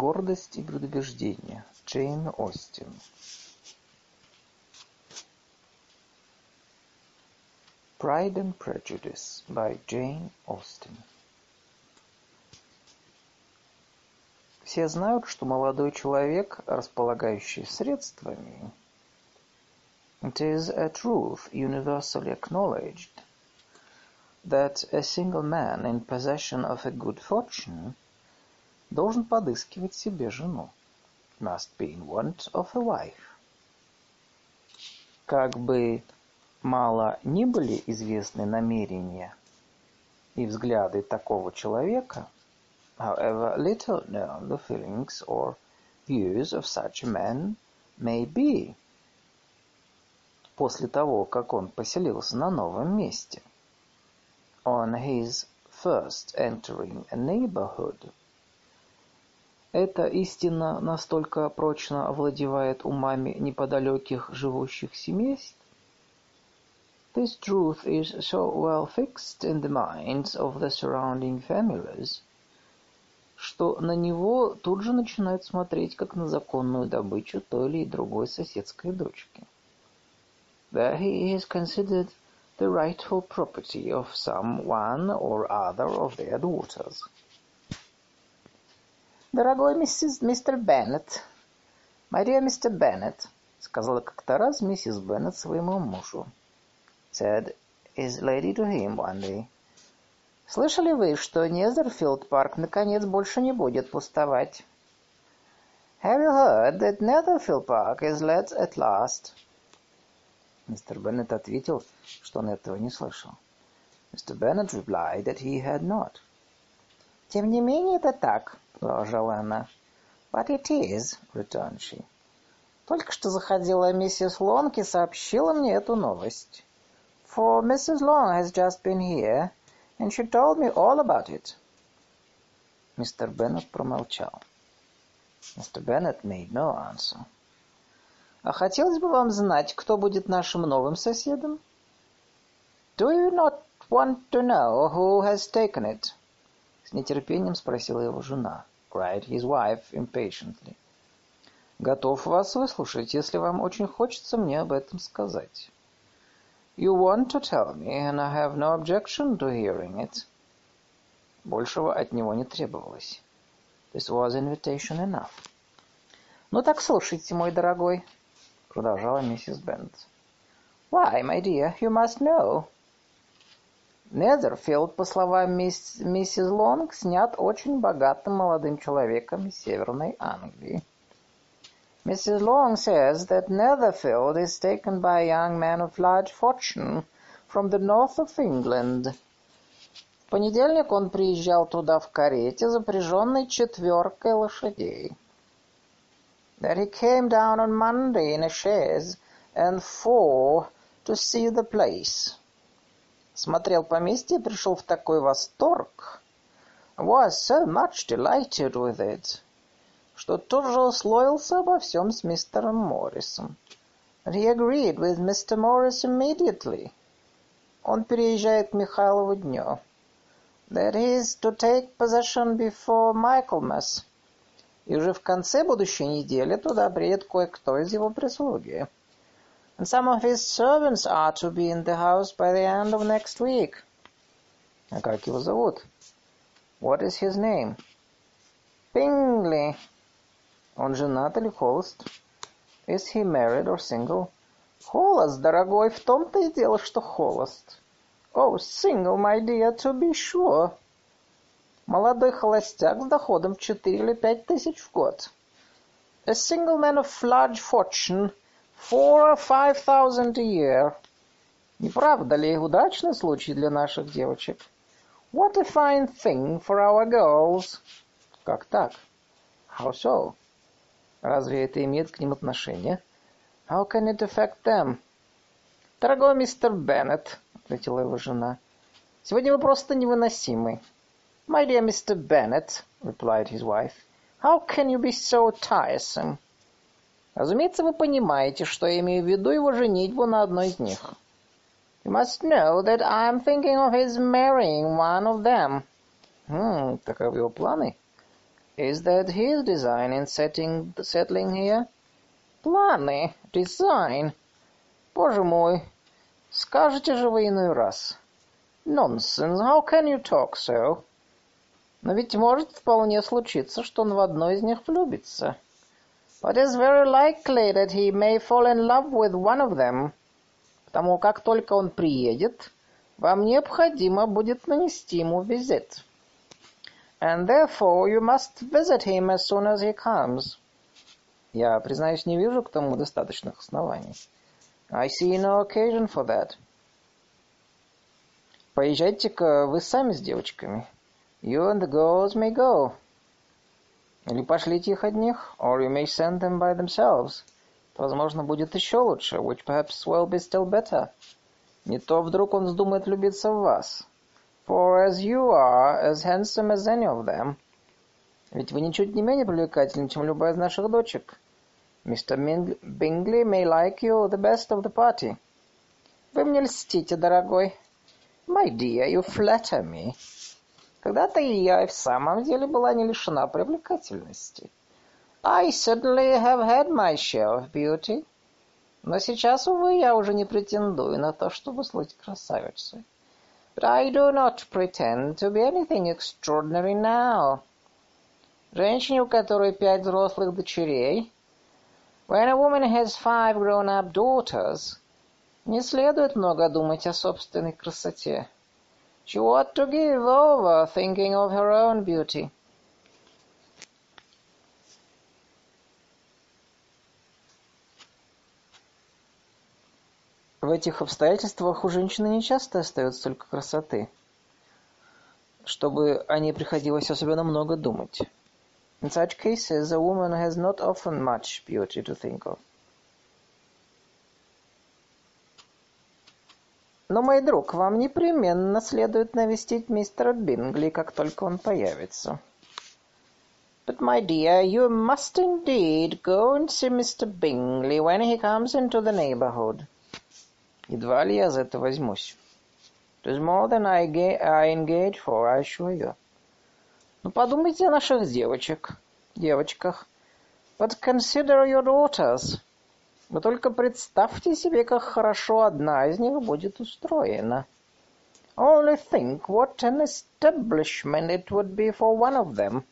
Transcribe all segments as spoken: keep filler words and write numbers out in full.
Гордость и предубеждение. Джейн Остин. Pride and Prejudice by Jane Austen. Все знают, что молодой человек, располагающий средствами, it is a truth universally acknowledged that a single man in possession of a good fortune должен подыскивать себе жену, must be in want of a wife. Как бы мало ни были известны намерения и взгляды такого человека, however little known the feelings or views of such a man may be, после того, как он поселился на новом месте, on his first entering a neighborhood, эта истина настолько прочно овладевает умами неподалеких живущих семейств, this truth is so well fixed in the minds of the surrounding families, что на него тут же начинают смотреть как на законную добычу той или другой соседской дочки. That he is considered the rightful property of some one or other of their daughters. «Дорогой миссис, мистер Беннет, Мария, мистер Беннет», сказала как-то раз миссис Беннет своему мужу, said his lady to him one day. «Слышали вы, что Незерфилд парк наконец больше не будет пустовать?» «Have you heard that Netherfield Park is let at last?» Мистер Беннет ответил, что он этого не слышал. Мистер Беннет replied that he had not. «Тем не менее, это так», — продолжала она. «But it is», — returned she. «Только что заходила миссис Лонг и сообщила мне эту новость. For Missus Long has just been here, and she told me all about it». Мистер Беннет промолчал. Мистер Беннет made no answer. «А хотелось бы вам знать, кто будет нашим новым соседом?» «Do you not want to know who has taken it?» С нетерпением спросила его жена. Cried his wife impatiently. «Готов вас выслушать, если вам очень хочется мне об этом сказать». «You want to tell me, and I have no objection to hearing it». Большего от него не требовалось. This was invitation enough. «Ну так слушайте, мой дорогой», — продолжала миссис Беннет. «Why, my dear, you must know». Незерфилд, по словам мисс, миссис Лонг, снят очень богатым молодым человеком из Северной Англии. Missus Long says that Netherfield is taken by a young man of large fortune from the north of England. В понедельник он приезжал туда в карете, запряженной четверкой лошадей. That he came down on Monday in a chaise and four to see the place. Смотрел поместье и пришел в такой восторг, was so much delighted with it, что тут же условился обо всем с мистером Моррисом. And he agreed with Mister Morris immediately. Он переезжает к Михайлову дню. That is to take possession before Michaelmas. И уже в конце будущей недели туда приедет кое-кто из его прислуги. And some of his servants are to be in the house by the end of next week. А как его зовут? What is his name? Bingley. Он женат или холост? Is he married or single? Холост, дорогой, в том-то и дело, что холост. Oh, single, my dear, to be sure. Молодой холостяк с доходом в четыре или пять тысяч в год. A single man of large fortune, four or five thousand a year. Не правда ли удачный случай для наших девочек? What a fine thing for our girls. Как так? How so? Разве это имеет к ним отношение? How can it affect them? Дорогой мистер Беннет, ответила его жена, сегодня вы просто невыносимы. My dear Mister Bennet, replied his wife, how can you be so tiresome? Разумеется, вы понимаете, что я имею в виду его женитьбу на одной из них. You must know that I am thinking of his marrying one of them. Hmm, таковы его планы? Is that his design in setting, settling here? Планы, design. Боже мой, скажете же вы иной раз. Nonsense, how can you talk so? Но ведь может вполне случиться, что он в одной из них влюбится. But it's very likely that he may fall in love with one of them. Потому как только он приедет, вам необходимо будет нанести ему визит. And therefore you must visit him as soon as he comes. Я, признаюсь, не вижу к тому достаточных оснований. I see no occasion for that. Поезжайте-ка вы сами с девочками. You and the girls may go. Или пошлите их одних, or you may send them by themselves. Возможно, будет еще лучше, which perhaps will be still better. Не то вдруг он вздумает влюбиться в вас. For as you are as handsome as any of them. Ведь вы ничуть не менее привлекательны, чем любая из наших дочек. Мистер Бингли may like you the best of the party. Вы мне льстите, дорогой. My dear, you flatter me. Когда-то и я и в самом деле была не лишена привлекательности. I certainly have had my share of beauty. Но сейчас, увы, я уже не претендую на то, чтобы слыть красавицей. But I do not pretend to be anything extraordinary now. Женщине, у которой пять взрослых дочерей, when a woman has five grown-up daughters, не следует много думать о собственной красоте. She ought to give over thinking of her own beauty. В этих обстоятельствах у женщины не часто остается столько красоты, чтобы о ней приходилось особенно много думать. In such cases, a woman has not often much beauty to think of. Но, мой друг, вам непременно следует навестить мистера Бингли, как только он появится. But, my dear, you must indeed go and see Mister Bingley when he comes into the neighborhood. Едва ли я за это возьмусь. It is more than I, I engage for, I assure you. Ну, подумайте о наших девочек, девочках. But consider your daughters. Вы только представьте себе, как хорошо одна из них будет устроена. Only think what an establishment it would be for one of them.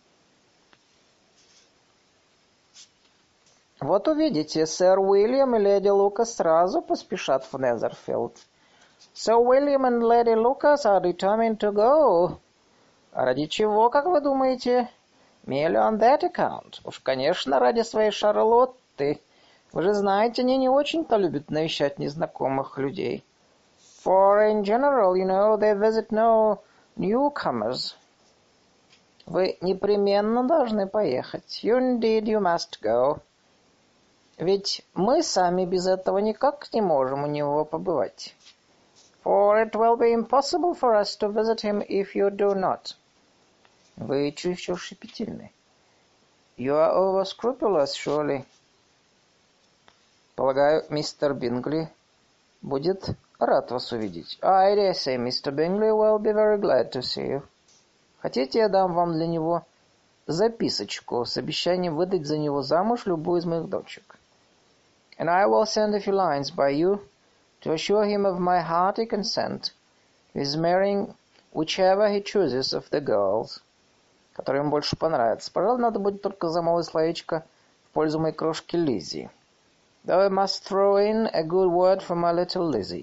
Вот увидите, сэр Уильям и леди Лукас сразу поспешат в Незерфилд. Sir William and Lady Lucas are determined to go. А ради чего, как вы думаете? Merely on that account. Уж, конечно, ради своей Шарлотты. Вы же знаете, они не очень-то любят навещать незнакомых людей. For in general, you know, they visit no newcomers. Вы непременно должны поехать. You indeed, you must go. Ведь мы сами без этого никак не можем у него побывать. For it will be impossible for us to visit him if you do not. Вы чересчур щепетильны. You are over scrupulous, surely. Полагаю, мистер Бингли будет рад вас увидеть. I dare say Mister Bingley will be very glad to see you. Хотите, я дам вам для него записочку с обещанием выдать за него замуж любую из моих дочек. And I will send a few lines by you to assure him of my hearty consent to his marrying whichever he chooses of the girls, которые ему больше понравятся. Пожалуй, надо будет только замолвить словечко в пользу моей крошки Лиззи. Though I must throw in a good word for my little Lizzie.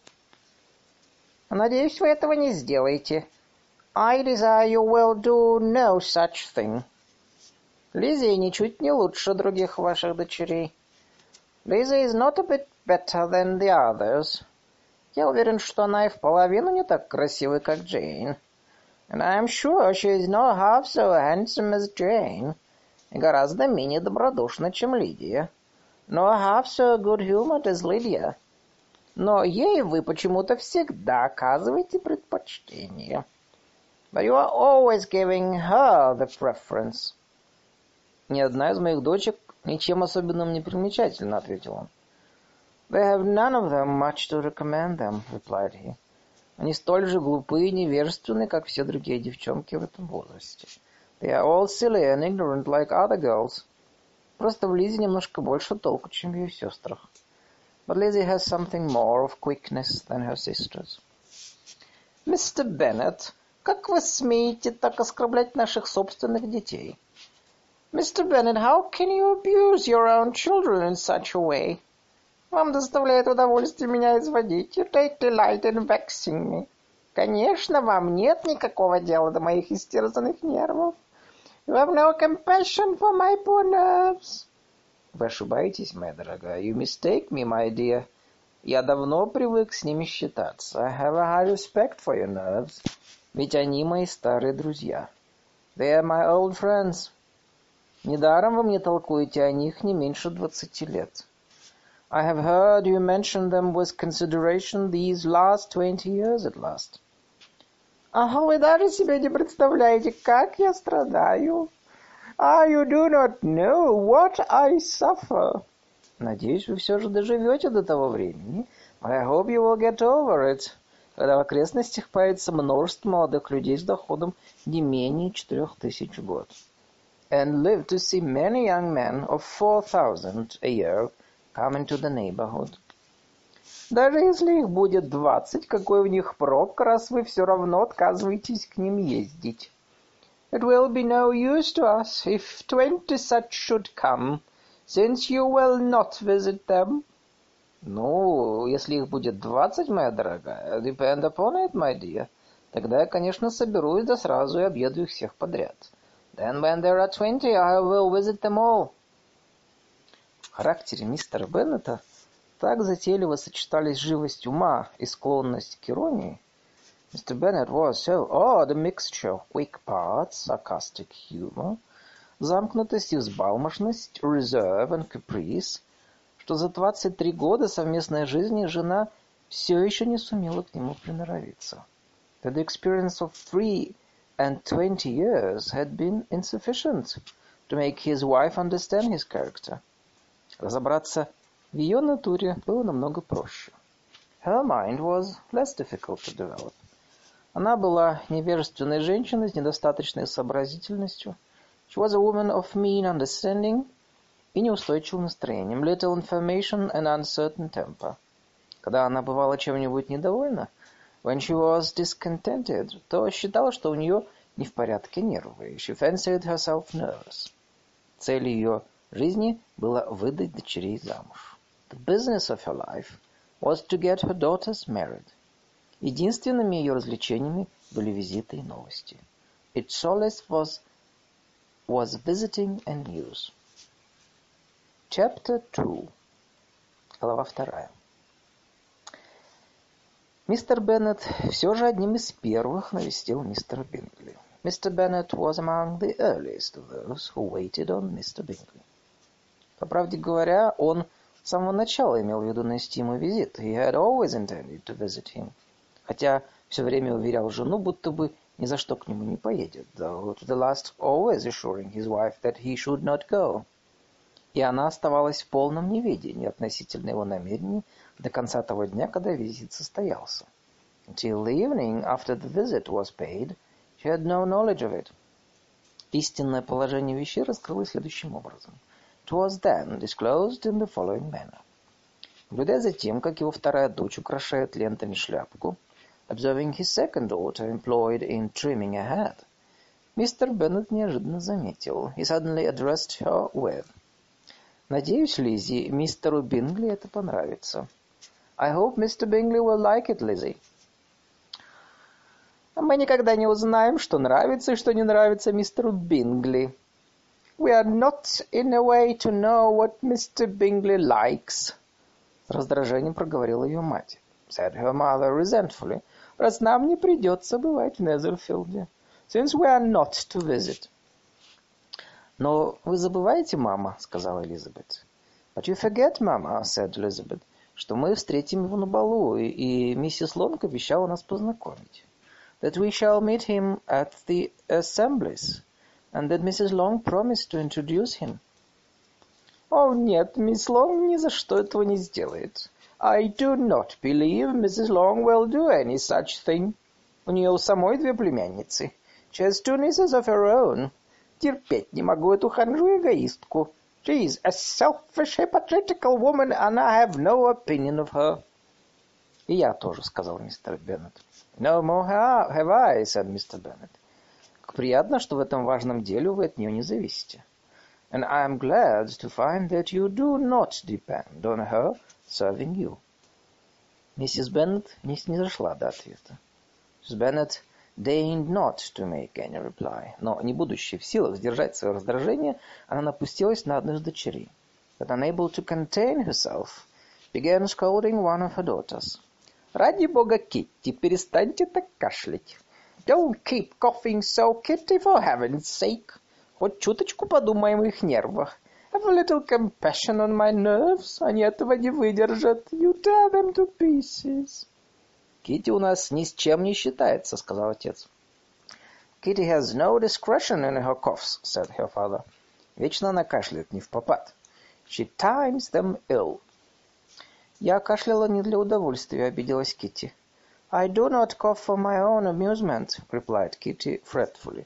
Надеюсь, вы этого не сделаете. I desire you will do no such thing. Лиззи ничуть не лучше других ваших дочерей. Lizzie is not a bit better than the others. Я уверен, что она и в половину не так красивая, как Джейн. And I am sure she is not half so handsome as Jane. И гораздо менее добродушна, чем Лидия. Nor half so good-humored as Lydia. Но ей вы почему-то всегда оказываете предпочтение. But you are always giving her the preference. Ни одна из моих дочек ничем особенным не примечательна, ответил он. They have none of them much to recommend them, replied he. Они столь же глупые и невежественны, как все другие девчонки в этом возрасте. They are all silly and ignorant like other girls. Просто в Лизе немножко больше толку, чем в ее сестрах. But Lizzie has something more of quickness than her sisters. Мистер Беннет, как вы смеете так оскорблять наших собственных детей? Mister Bennet, how can you abuse your own children in such a way? Вам доставляет удовольствие меня изводить. You take delight in vexing me. Конечно, вам нет никакого дела до моих истерзанных нервов. You have no compassion for my poor nerves. Вы ошибаетесь, моя дорогая. You mistake me, my dear. Я давно привык с ними считаться. I have a high respect for your nerves. Ведь они мои старые друзья. They are my old friends. Недаром вы мне толкуете о них не меньше двадцати лет. I have heard you mention them with consideration these last twenty years at last. Ага, вы даже себе не представляете, как я страдаю. Ah, you do not know what I suffer. Надеюсь, вы все же доживете до того времени. I hope you will get over it. Когда в окрестностях появится множество молодых людей с доходом не менее четырех тысяч в год. And live to see many young men of four thousand a year come into the neighborhood. Даже если их будет двадцать, какой у них прок, раз вы все равно отказываетесь к ним ездить. It will be no use to us if twenty such should come, since you will not visit them. Ну, если их будет двадцать, моя дорогая, depend upon it, my dear. Тогда я, конечно, соберусь да сразу и объеду их всех подряд. Then when there are twenty, I will visit them all. В характере мистера Беннета так затейливо сочетались живость ума и склонность к иронии. Mister Bennet was so odd a mixture of quick parts, sarcastic humor, замкнутость и взбалмошность, reserve and caprice, что за двадцать три года совместной жизни жена все еще не сумела к нему приноровиться. That the experience of three and twenty years had been insufficient to make his wife understand his character. Разобраться в ее натуре было намного проще. Her mind was less difficult to develop. Она была невежественной женщиной с недостаточной сообразительностью. She was a woman of mean understanding и неустойчивым настроением. Little information and uncertain temper. Когда она бывала чем-нибудь недовольна, when she was discontented, то считала, что у нее не в порядке нервы. She fancied herself nervous. Целью ее жизни было выдать дочерей замуж. The business of her life was to get her daughters married. Единственными ее развлечениями были визиты и новости. Its solace was, was visiting and news. Chapter two. Глава вторая. Мистер Беннет все же одним из первых навестил мистера Бингли. Mister Bennet was among the earliest of those who waited on Mister Bingley. По правде говоря, он с самого начала имел в виду нанести ему визит. He had always intended to visit him. Хотя все время уверял жену, будто бы ни за что к нему не поедет. Though to the last always assuring his wife that he should not go. И она оставалась в полном неведении относительно его намерений до конца того дня, когда визит состоялся. Until the evening after the visit was paid, she had no knowledge of it. Истинное положение вещей раскрылось следующим образом. It was then disclosed in the following manner. Наблюдая за тем, как его вторая дочь украшает лентами шляпку, observing his second daughter employed in trimming a hat, мистер Беннет неожиданно заметил. He suddenly addressed her with: «Надеюсь, Лиззи, мистеру Бингли это понравится». I hope Mister Bingley will like it, Lizzie. Мы никогда не узнаем, что нравится и что не нравится мистеру Бингли. We are not in a way to know what Mister Bingley likes. С раздражением проговорила ее мать. Said her mother resentfully. Раз нам не придется бывать в Незерфилде. Since we are not to visit. Но вы забываете, мама, сказала Элизабет. But you forget, mama, said Elizabeth, что мы встретим его на балу, и, и миссис Лонг обещала нас познакомить. That we shall meet him at the assemblies, and that Missus Long promised to introduce him. О, нет, мисс Лонг ни за что этого не сделает. I do not believe Missus Long will do any such thing. У нее у самой две племянницы. She has two nieces of her own. Терпеть не могу эту ханжу-эгоистку. She is a selfish, hypocritical woman, and I have no opinion of her. И я тоже, сказал мистер Беннет. No more have I, said мистер Беннет. Как приятно, что в этом важном деле вы от нее не зависите. And I am glad to find that you do not depend on her serving you. Миссис Беннет не снизошла до ответа. Миссис Беннет deigned not to make any reply. Но, не будучи в силах сдержать свое раздражение, она напустилась на одну из дочерей. But unable to contain herself, began scolding one of her daughters. Ради бога, Китти, перестаньте так кашлять. Don't keep coughing so, Kitty, for heaven's sake. Хоть чуточку подумай о моих нервах. Have a little compassion on my nerves. Они этого не выдержат. You tear them to pieces. Китти у нас ни с чем не считается, сказал отец. Kitty has no discretion in her coughs, said her father. Вечно она кашляет не впопад. She times them ill. Я кашляла не для удовольствия, обиделась Китти. I do not cough for my own amusement, replied Kitty fretfully.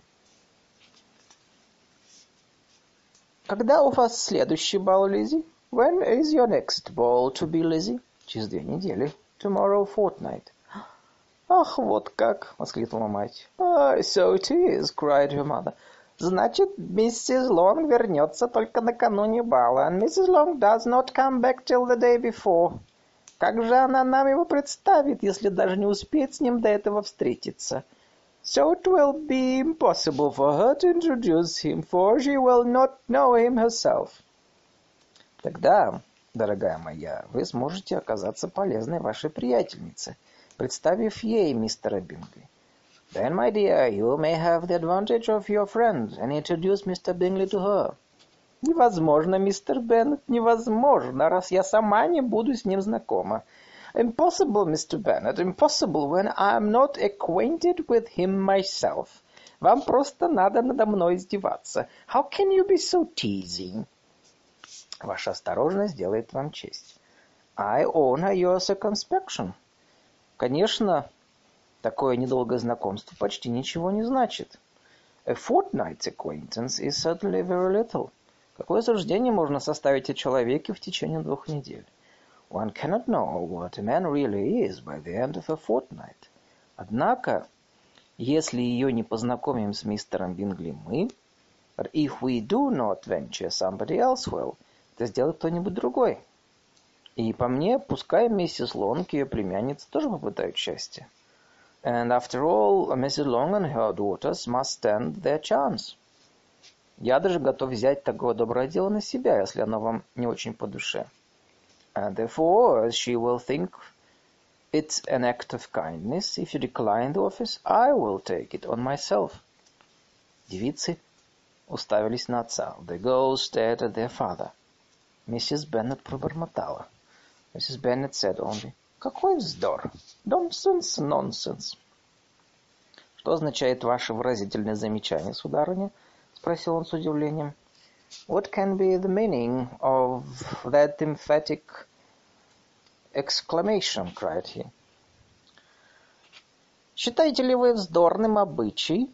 Когда у вас следующий бал, Лиззи? When is your next ball to be, Lizzie? Через две недели. Tomorrow fortnight. Ах, вот как! Воскликнула мать. Oh, so it is, cried her mother. Значит, миссис Лонг вернется только накануне бала, and миссис Long does not come back till the day before. Как же она нам его представит, если даже не успеет с ним до этого встретиться? So it will be impossible for her to introduce him, for she will not know him herself. Тогда, дорогая моя, вы сможете оказаться полезной вашей приятельнице, представив ей мистера Бингли. Then, my dear, you may have the advantage of your friend and introduce Mister Bingley to her. Невозможно, мистер Беннет, невозможно, раз я сама не буду с ним знакома. Impossible, Mister Bennet, impossible when I am not acquainted with him myself. Вам просто надо надо мной издеваться. How can you be so teasing? Ваша осторожность делает вам честь. I honor your circumspection. Конечно, такое недолгое знакомство почти ничего не значит. A fortnight's acquaintance is certainly very little. Какое суждение можно составить о человеке в течение двух недель? One cannot know what a man really is by the end of a fortnight. Однако, если ее не познакомим с мистером Бингли мы, but if we do not venture somebody else will, это сделает кто-нибудь другой. И по мне, пускай миссис Лонг и ее племянница тоже попытают счастье. And after all, Missus Long and her daughters must stand their chance. Я даже готов взять такое доброе дело на себя, если оно вам не очень по душе. And therefore, as she will think it an act of kindness, if you decline the office, I will take it on myself. Девицы уставились на отца. The girls stared at their father. Миссис Беннет пробормотала. Миссис Беннет said only, какой вздор! Nonsense, nonsense. Что означает ваше выразительное замечание, сударыня? Спросил он с удивлением. What can be the meaning of that emphatic exclamation? Cried he. Считаете ли вы вздорным обычай?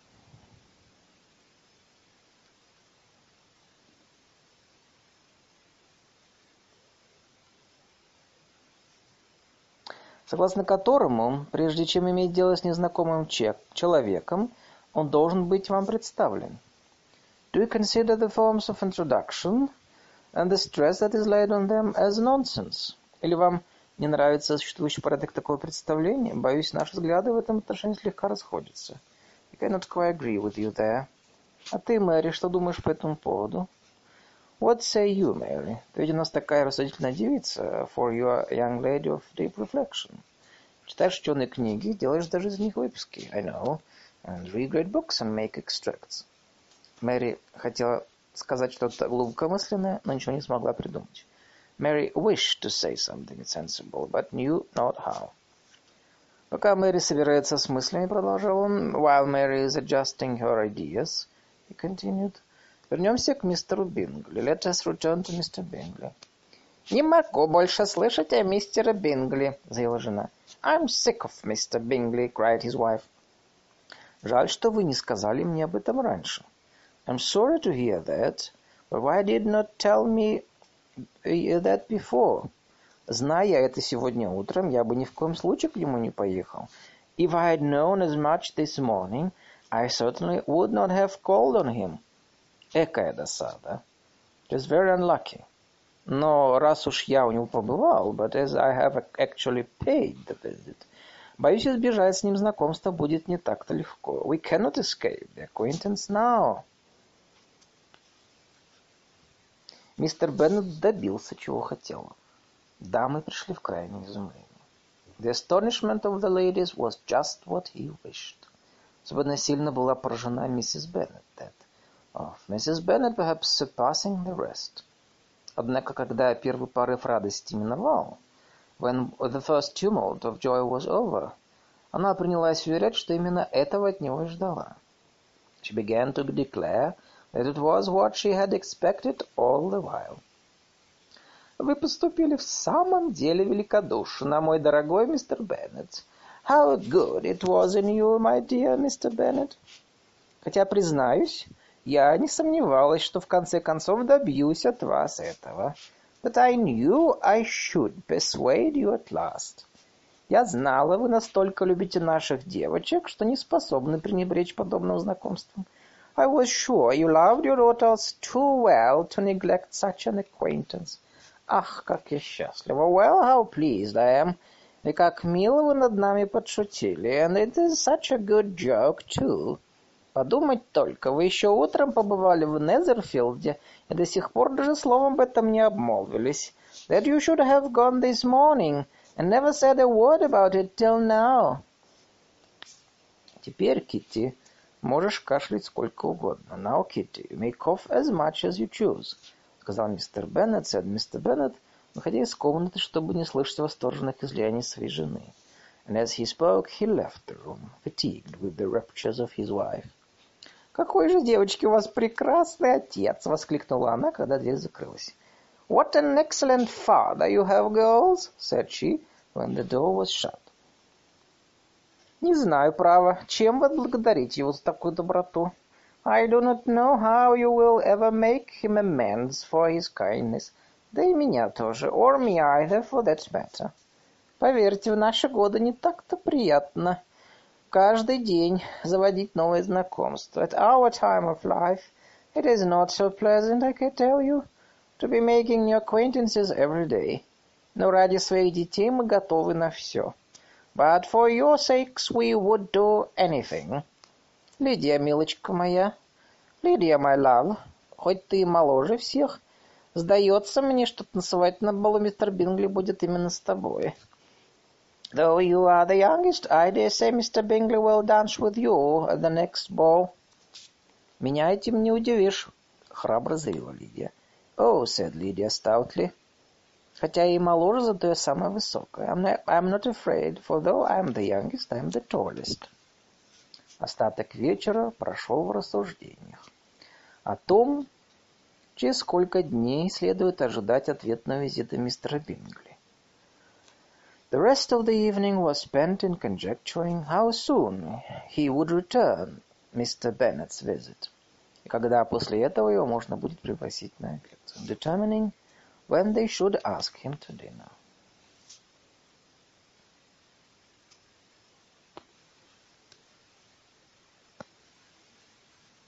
Согласно которому, прежде чем иметь дело с незнакомым человеком, он должен быть вам представлен. Do you consider the forms of introduction and the stress that is laid on them as nonsense? Или вам не нравится существующий порядок такого представления? Боюсь, наши взгляды в этом отношении слегка расходятся. I cannot quite agree with you there. А ты, Мэри, что думаешь по этому поводу? What say you, Mary? Ты ведь у нас такая рассудительная девица, for you are a young lady of deep reflection. Читаешь ученые книги, делаешь даже из них выписки. I know. And read great books and make extracts. Мэри хотела сказать что-то глубокомысленное, но ничего не смогла придумать. Mary wished to say something sensible, but knew not how. Пока Мэри собирается с мыслями, продолжал он, while Mary is adjusting her ideas, he continued, вернемся к мистеру Бингли. Let us return to Mister Bingley. Не могу больше слышать о мистере Бингли, заявила жена. I'm sick of Mister Bingley, cried his wife. Жаль, что вы не сказали мне об этом раньше. I'm sorry to hear that, but why did not tell me that before? Зная это сегодня утром, я бы ни в коем случае к нему не поехал. If I had known as much this morning, I certainly would not have called on him. Экая досада. It is very unlucky. Но раз уж я у него побывал, but as I have actually paid the visit, боюсь, избежать с ним знакомства будет не так-то легко. We cannot escape the acquaintance now. Мистер Беннет добился, чего хотел. Дамы пришли в крайнее изумление. The astonishment of the ladies was just what he wished. Особенно сильно была поражена миссис Беннет. That of Missus Bennet, perhaps surpassing the rest. Однако, когда первый порыв радости миновал, when the first tumult of joy was over, она принялась уверять, что именно этого от него и ждала. She began to declare that it was what she had expected all the while. Вы поступили в самом деле великодушно, мой дорогой мистер Беннет. How good it was in you, my dear Mister Bennet. Хотя, признаюсь, я не сомневалась, что в конце концов добьюсь от вас этого. But I knew I should persuade you at last. Я знала, вы настолько любите наших девочек, что не способны пренебречь подобным знакомством. I was sure you loved your daughters too well to neglect such an acquaintance. Ах, как я счастлива. Well, how pleased I am. И как мило вы над нами подшутили. And it is such a good joke, too. Подумать только, вы еще утром побывали в Незерфилде и до сих пор даже словом об этом не обмолвились. That you should have gone this morning and never said a word about it till now. Теперь, Китти, можешь кашлять сколько угодно. Now, Kitty, you may cough as much as you choose. Сказал мистер Беннет, said мистер Беннет, выходя из комнаты, чтобы не слышать восторженных излияний своей жены. And as he spoke, he left the room, fatigued with the raptures of his wife. «Какой же, девочки, у вас прекрасный отец!» — воскликнула она, когда дверь закрылась. «What an excellent father you have, girls!» — said she, when the door was shut. «Не знаю, право, чем вы отблагодарите его за такую доброту?» I do not know how you will ever make him amends for his kindness. Да и меня тоже, or me either, for that matter. Поверьте, в наши годы не так-то приятно каждый день заводить новые знакомства. At our time of life, it is not so pleasant, I can tell you, to be making new acquaintances every day. Но ради своих детей мы готовы на все. But for your sakes we would do anything. Лидия, милочка моя, Лидия, my love, хоть ты и моложе всех, сдается мне, что танцевать на балу мистер Бингли будет именно с тобой. Though you are the youngest, I dare say Mister Bingley will dance with you at the next ball. Меня этим не удивишь, храбро заявила Лидия. Oh, said Lydia stoutly. Хотя я и моложе, зато я самая высокая. I'm not, I'm not afraid, for though I'm the youngest, I'm the tallest. Остаток вечера прошел в рассуждениях о том, через сколько дней следует ожидать ответного визита мистера Бингли. The rest of the evening was spent in conjecturing how soon he would return Mister Bennet's visit, и когда после этого его можно будет пригласить на обед, determining when they should ask him to dinner.